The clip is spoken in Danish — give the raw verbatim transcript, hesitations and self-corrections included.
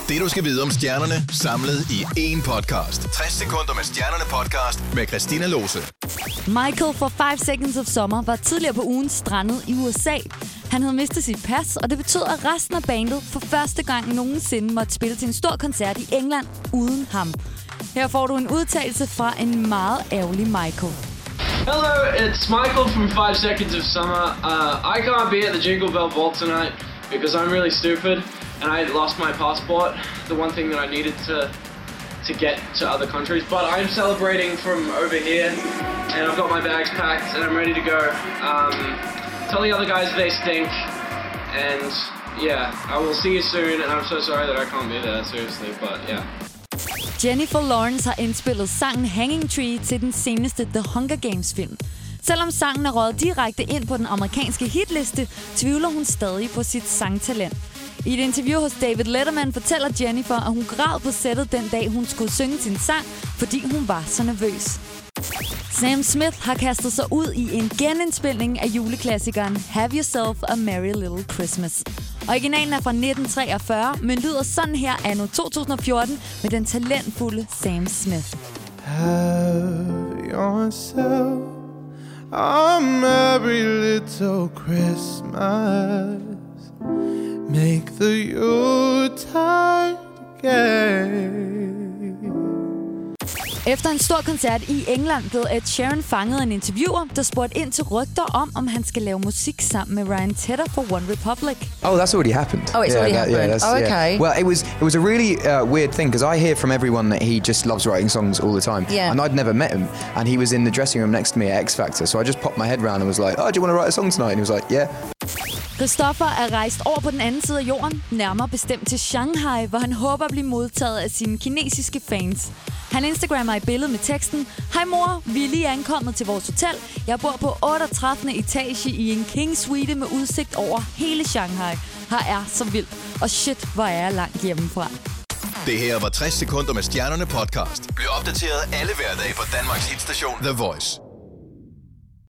Det du skal vide om stjernerne, samlet i én podcast. tres sekunder med Stjernerne podcast med Christina Lose. Michael fra Five Seconds of Summer var tidligere på ugen strandet i U S A. Han havde mistet sit pas, og det betød, at resten af bandet for første gang nogensinde måtte spille til en stor koncert i England uden ham. Her får du en udtalelse fra en meget ærgerlig Michael. Hello, it's Michael from Five Seconds of Summer. Uh, I can't be at the Jingle Bell Ball tonight because I'm really stupid and I lost my passport, the one thing that I needed to to get to other countries. But I'm celebrating from over here and I've got my bags packed and I'm ready to go. Um, tell the other guys they stink and yeah, I will see you soon and I'm so sorry that I can't be there, seriously, but yeah. Jennifer Lawrence har indspillet sangen Hanging Tree til den seneste The Hunger Games film. Selvom sangen er røget direkte ind på den amerikanske hitliste, tvivler hun stadig på sit sangtalent. I et interview hos David Letterman fortæller Jennifer, at hun græd på sættet den dag, hun skulle synge sin sang, fordi hun var så nervøs. Sam Smith har kastet sig ud i en genindspilning af juleklassikeren Have Yourself a Merry Little Christmas. Originalen er fra nitten treogfyrre, men lyder sådan her anno to tusind og fjorten med den talentfulde Sam Smith. Have yourself a merry little Christmas. Make the Yuletide gay. Efter en stor koncert i England blev Ed Sheeran fanget af en interviewer, der spurgte ind til rygter om, om han skal lave musik sammen med Ryan Tedder for One Republic. Oh, that's already happened. Oh, it's yeah, already that, happened. Yeah, Oh, okay. Yeah. Well, it was it was a really uh, weird thing because I hear from everyone that he just loves writing songs all the time. Yeah. And I'd never met him, and he was in the dressing room next to me at X Factor. So I just popped my head round and was like, "Oh, do you want to write a song tonight?" And he was like, "Yeah." Christopher er rejst over på den anden side af jorden, nærmere bestemt til Shanghai, hvor han håber at blive modtaget af sine kinesiske fans. Han instagrammer i billedet med teksten: Hej mor, vi er lige ankommet til vores hotel. Jeg bor på otteogtredivte etage i en king suite med udsigt over hele Shanghai. Her er så vildt, og shit, hvor er jeg langt hjemmefra. Det her var tres sekunder med Stjernerne podcast. Bliv opdateret alle hverdage på Danmarks hitstation The Voice.